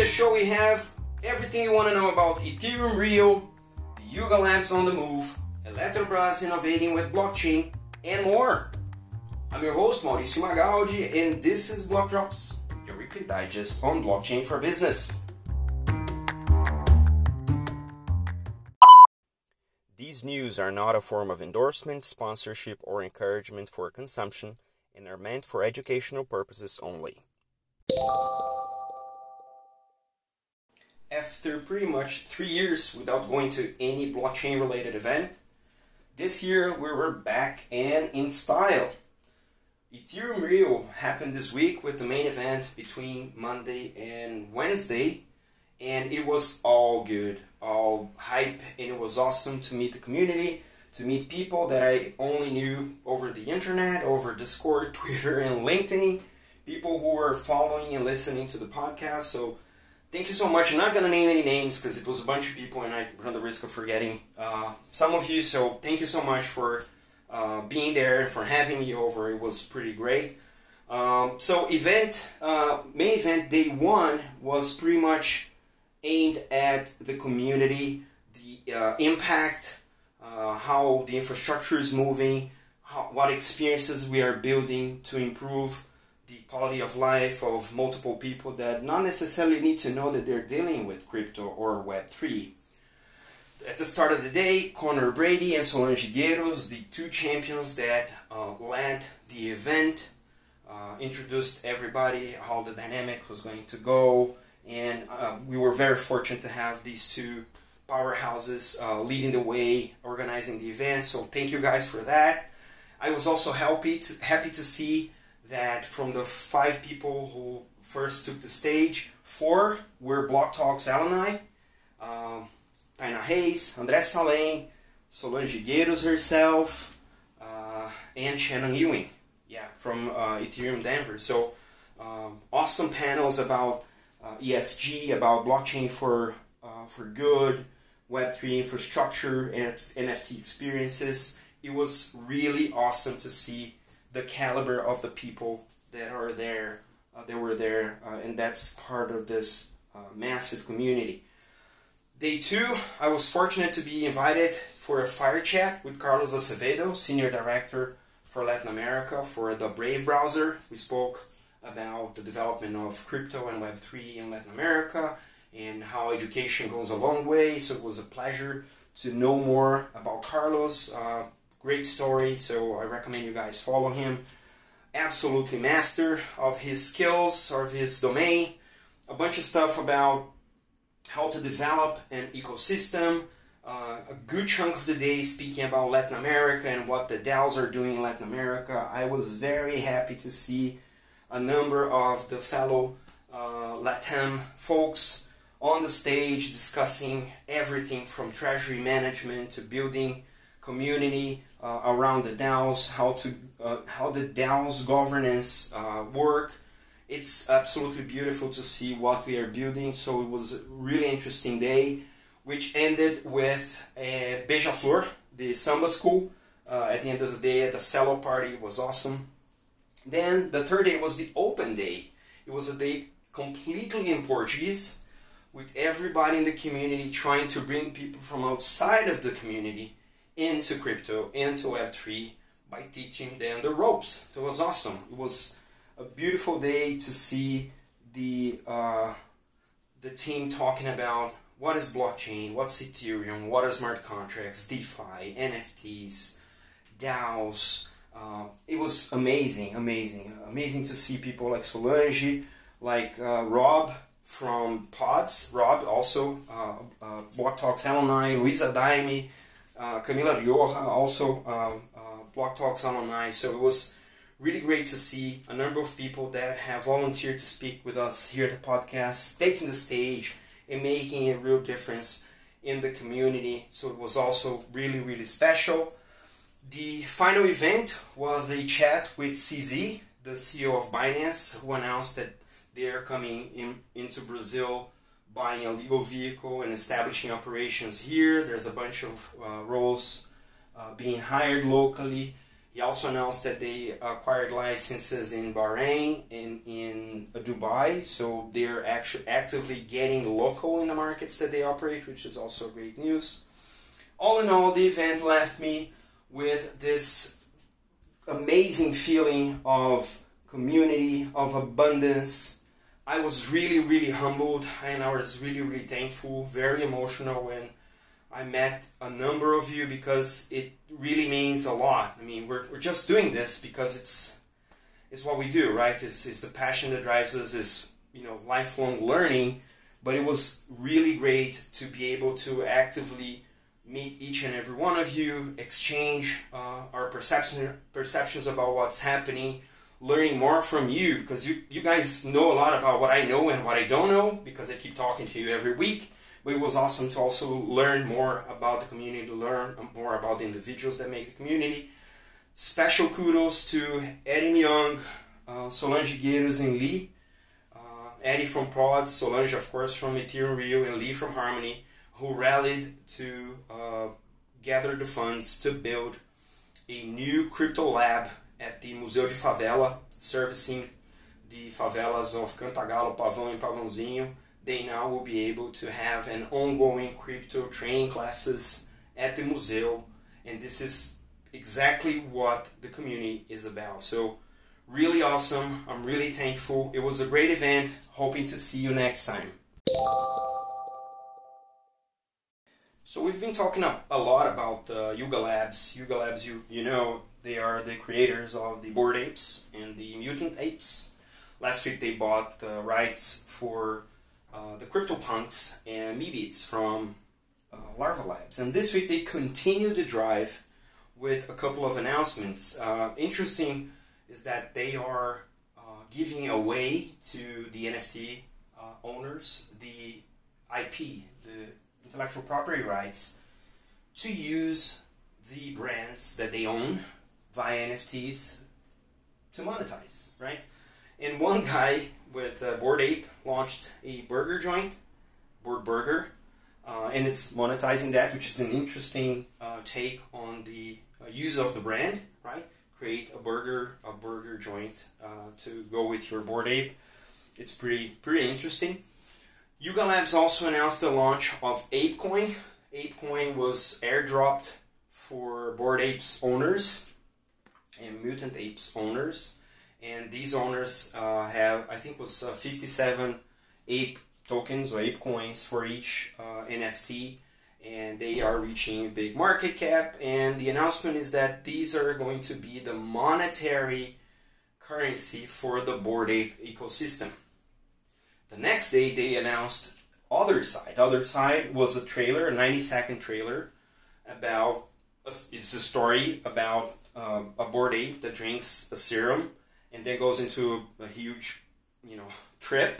this show we have everything you want to know about Ethereum Rio, the Yuga Labs on the move, Eletrobras innovating with blockchain, and more. I'm your host, Mauricio Magaldi, and this is Block Drops, your weekly digest on blockchain for business. These news are not a form of endorsement, sponsorship, or encouragement for consumption and are meant for educational purposes only. After pretty much 3 years without going to any blockchain related event, this year we were back and in style. Ethereum Rio happened this week with the main event between Monday and Wednesday, and it was all good, all hype, and it was awesome to meet the community, to meet people that I only knew over the internet, over Discord, Twitter, and LinkedIn, people who were following and listening to the podcast. So thank you so much. I'm not going to name any names because it was a bunch of people and I run the risk of forgetting some of you. So thank you so much for being there and for having me over. It was pretty great. So main event day one was pretty much aimed at the community, the impact, how the infrastructure is moving, what experiences we are building to improve the quality of life of multiple people that not necessarily need to know that they're dealing with crypto or Web3. At the start of the day, Conor Brady and Solange Gueiros, the two champions that led the event, introduced everybody, how the dynamic was going to go, and we were very fortunate to have these two powerhouses leading the way, organizing the event, so thank you guys for that. I was also happy to see that from the 5 people who first took the stage, 4 were Block Talks alumni. Taina Reis, André Salem, Solange Gueiros herself, and Shannon Ewing, from Ethereum Denver. So awesome panels about ESG, about blockchain for good, Web3 infrastructure, and NFT experiences. It was really awesome to see the caliber of the people that are there, and that's part of this massive community. Day 2, I was fortunate to be invited for a fire chat with Carlos Acevedo, Senior Director for Latin America for the Brave browser. We spoke about the development of crypto and Web3 in Latin America and how education goes a long way, so it was a pleasure to know more about Carlos. Great story, so I recommend you guys follow him. Absolutely master of his skills, of his domain. A bunch of stuff about how to develop an ecosystem. A good chunk of the day speaking about Latin America and what the DAOs are doing in Latin America. I was very happy to see a number of the fellow LATAM folks on the stage discussing everything from treasury management to building community around the DAOs, how the DAOs governance work. It's absolutely beautiful to see what we are building. So it was a really interesting day, which ended with Beija-Flor, the samba school. At the end of the day, at the cello party, it was awesome. Then the third day was the open day. It was a day completely in Portuguese, with everybody in the community trying to bring people from outside of the community into crypto, into Web3, by teaching them the ropes. So it was awesome. It was a beautiful day to see the team talking about what is blockchain, what's Ethereum, what are smart contracts, DeFi, NFTs, DAOs. It was amazing to see people like Solange, like Rob from Pods, Rob also Block Talks alumni, Luisa Daime, Camila Rioja, also Block Talks alumni. So it was really great to see a number of people that have volunteered to speak with us here at the podcast, taking the stage and making a real difference in the community. So it was also really special. The final event was a chat with CZ, the CEO of Binance, who announced that they are coming into Brazil, buying a legal vehicle and establishing operations here. There's a bunch of roles being hired locally. He also announced that they acquired licenses in Bahrain and in Dubai, so they're actually actively getting local in the markets that they operate, which is also great news. All in all, the event left me with this amazing feeling of community, of abundance. I was really humbled, and I was really thankful, very emotional when I met a number of you, because it really means a lot. I mean, we're just doing this because it's what we do, right? It's the passion that drives us, is, you know, lifelong learning. But it was really great to be able to actively meet each and every one of you, exchange our perceptions about what's happening, learning more from you, because you guys know a lot about what I know and what I don't know, because I keep talking to you every week. But it was awesome to also learn more about the community, to learn more about the individuals that make the community. Special kudos to Eddie Young, Solange Gueiros, and Lee. Eddie from Prods, Solange of course from Ethereum Rio, and Lee from Harmony, who rallied to gather the funds to build a new crypto lab at the Museu de Favela, servicing the favelas of Cantagalo, Pavão, and Pavãozinho. They now will be able to have an ongoing crypto training classes at the museo, and this is exactly what the community is about. So really awesome. I'm really thankful. It was a great event. Hoping to see you next time. So we've been talking a lot about Yuga Labs. Yuga Labs, you know, they are the creators of the Bored Apes and the Mutant Apes. Last week they bought the rights for the CryptoPunks and Meebits from Larva Labs. And this week they continue the drive with a couple of announcements. Interesting is that they are giving away to the NFT owners the IP, the intellectual property rights, to use the brands that they own via NFTs to monetize, right? And one guy with Bored Ape launched a burger joint, Bored Burger, and it's monetizing that, which is an interesting take on the use of the brand, right? Create a burger joint to go with your Bored Ape. It's pretty interesting. Yuga Labs also announced the launch of ApeCoin. ApeCoin was airdropped for Bored Apes owners and Mutant Apes owners. And these owners have, I think it was 57 ape tokens or ape coins for each NFT, and they are reaching a big market cap. And the announcement is that these are going to be the monetary currency for the Bored Ape ecosystem. The next day they announced Other Side. Other Side was a trailer, a 90-second trailer about, it's a story about a Bored Ape that drinks a serum and then goes into a huge, trip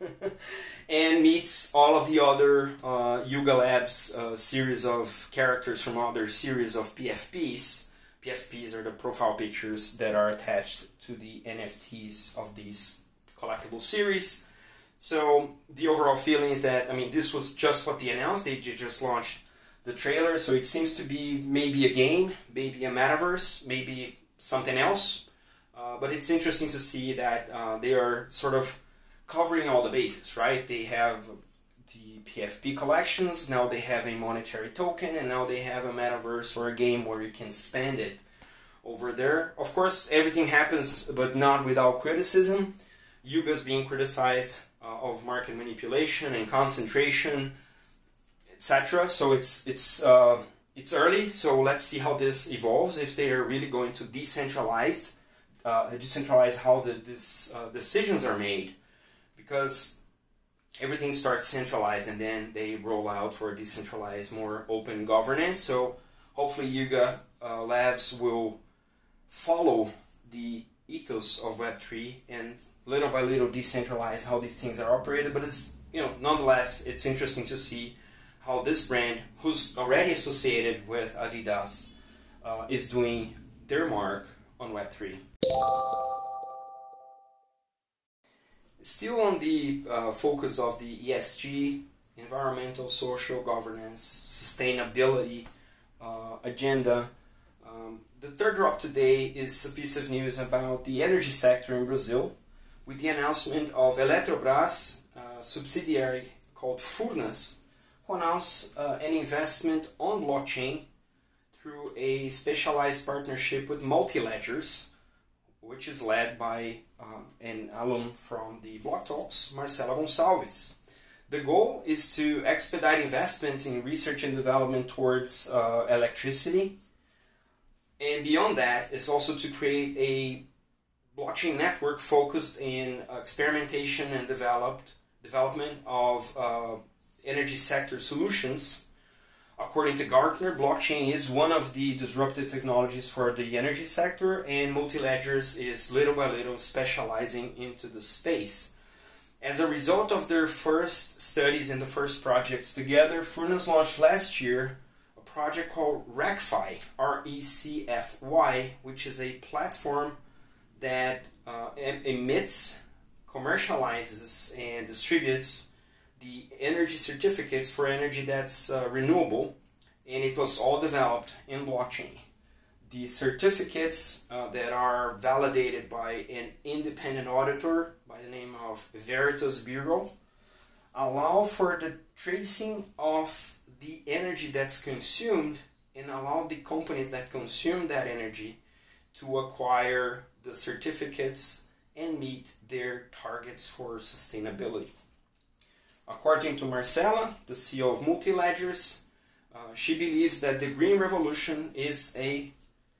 and meets all of the other Yuga Labs series of characters from other series of PFPs. PFPs are the profile pictures that are attached to the NFTs of these collectible series. So the overall feeling is that, this was just what they announced. They just launched the trailer, so it seems to be maybe a game, maybe a metaverse, maybe something else. But it's interesting to see that they are sort of covering all the bases, right? They have the PFP collections, now they have a monetary token, and now they have a metaverse or a game where you can spend it over there. Of course, everything happens, but not without criticism. Yuga's being criticized of market manipulation and concentration, etc. So it's early, so let's see how this evolves, if they are really going to decentralize how these decisions are made, because everything starts centralized and then they roll out for decentralized, more open governance. So hopefully Yuga Labs will follow the ethos of Web3 and little by little decentralize how these things are operated. But it's, nonetheless, it's interesting to see how this brand, who's already associated with Adidas, is doing their mark on Web3. Still on the focus of the ESG, environmental, social, governance, sustainability agenda, The third drop today is a piece of news about the energy sector in Brazil, with the announcement of Eletrobras, a subsidiary called Furnas, who announced an investment on blockchain through a specialized partnership with Multiledgers, which is led by an alum from the Block Talks, Marcela Gonçalves. The goal is to expedite investments in research and development towards electricity, and beyond that is also to create a blockchain network focused in experimentation and development of energy sector solutions. According to Gartner, blockchain is one of the disruptive technologies for the energy sector, and Multiledgers is little by little specializing into the space. As a result of their first studies and the first projects together, Furnas launched last year a project called RECFY, R-E-C-F-Y, which is a platform that emits, commercializes, and distributes the energy certificates for energy that's renewable, and it was all developed in blockchain. The certificates that are validated by an independent auditor by the name of Veritas Bureau allow for the tracing of the energy that's consumed and allow the companies that consume that energy to acquire the certificates and meet their targets for sustainability. According to Marcela, the CEO of Multiledgers, she believes that the green revolution is a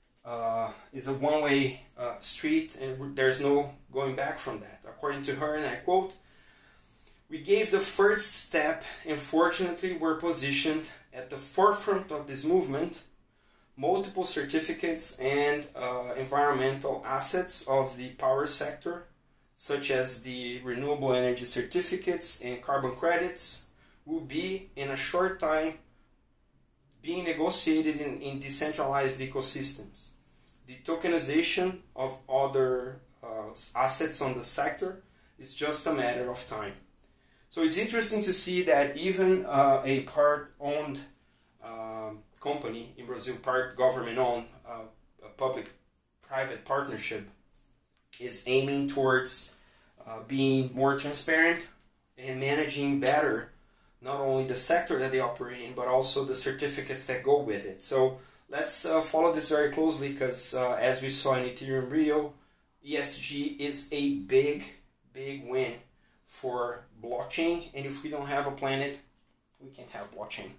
one-way street, and there's no going back from that. According to her, and I quote, "We gave the first step and fortunately we're positioned at the forefront of this movement. Multiple certificates and environmental assets of the power sector, such as the renewable energy certificates and carbon credits, will be in a short time being negotiated in decentralized ecosystems. The tokenization of other assets on the sector is just a matter of time." So it's interesting to see that even a part-owned company in Brazil, part government-owned, a public-private partnership, is aiming towards being more transparent and managing better not only the sector that they operate in, but also the certificates that go with it. So let's follow this very closely, because as we saw in Ethereum Rio, ESG is a big win for blockchain, and if we don't have a planet, we can't have blockchain.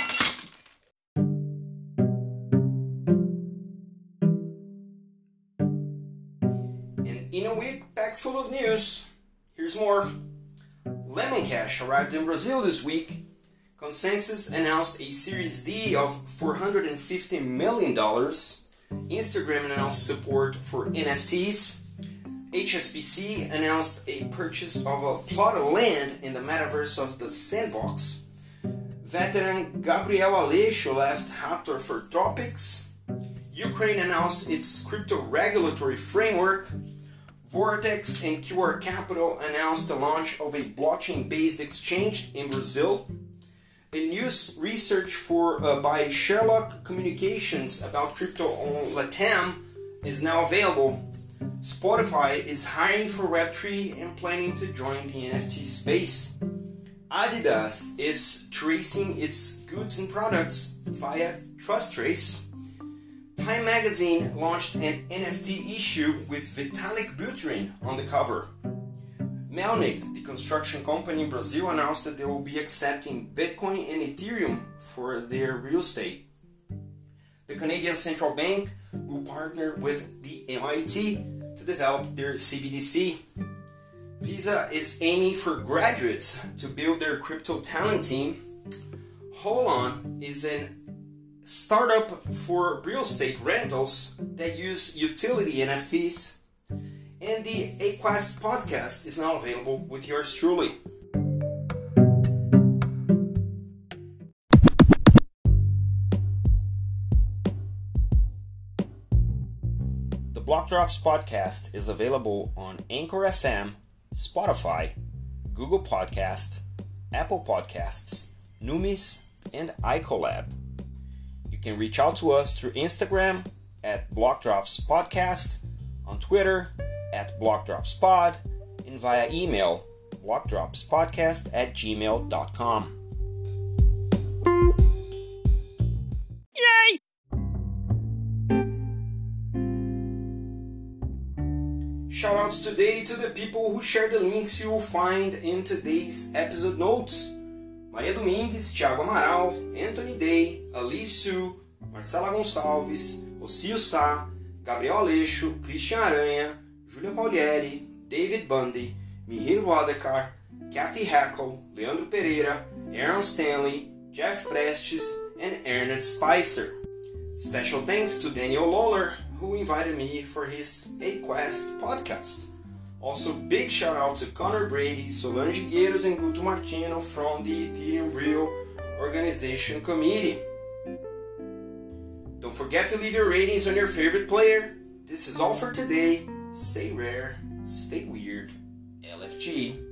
And in a week packed full of news, here's more. Lemon Cash arrived in Brazil this week. Consensus announced a Series D of $450 million. Instagram announced support for NFTs. HSBC announced a purchase of a plot of land in the metaverse of the Sandbox. Veteran Gabriel Aleixo left Hathor for Tropics. Ukraine announced its crypto regulatory framework. Vortex and QR Capital announced the launch of a blockchain-based exchange in Brazil. A new research by Sherlock Communications about crypto on Latam is now available. Spotify is hiring for Web3 and planning to join the NFT space. Adidas is tracing its goods and products via TrustTrace. Time Magazine launched an NFT issue with Vitalik Buterin on the cover. Melnyk, the construction company in Brazil, announced that they will be accepting Bitcoin and Ethereum for their real estate. The Canadian Central Bank will partner with the MIT to develop their CBDC. Visa is aiming for graduates to build their crypto talent team. Holon is an startup for real estate rentals that use utility NFTs. And the Aquest podcast is now available with yours truly. The Block Drops podcast is available on Anchor FM, Spotify, Google Podcast, Apple Podcasts, Numis, and iColab. You can reach out to us through Instagram, at Blockdrops Podcast, on Twitter at BlockdropsPod, and via email blockdropspodcast@gmail.com. Yay! Shoutouts today to the people who share the links you will find in today's episode notes. Maria Domingues, Thiago Amaral, Anthony Day, Alice Su, Marcela Gonçalves, Rocio Sá, Gabriel Aleixo, Christian Aranha, Júlia Paulieri, David Bundy, Mihir Wadekar, Kathy Hackle, Leandro Pereira, Aaron Stanley, Jeff Prestes, and Ernest Spicer. Special thanks to Daniel Lawler, who invited me for his A-Quest podcast. Also, big shout out to Connor Brady, Solange Gueiros, and Guto Martino from the Ethereum Real Organization Committee. Don't forget to leave your ratings on your favorite player. This is all for today. Stay rare, stay weird. LFG.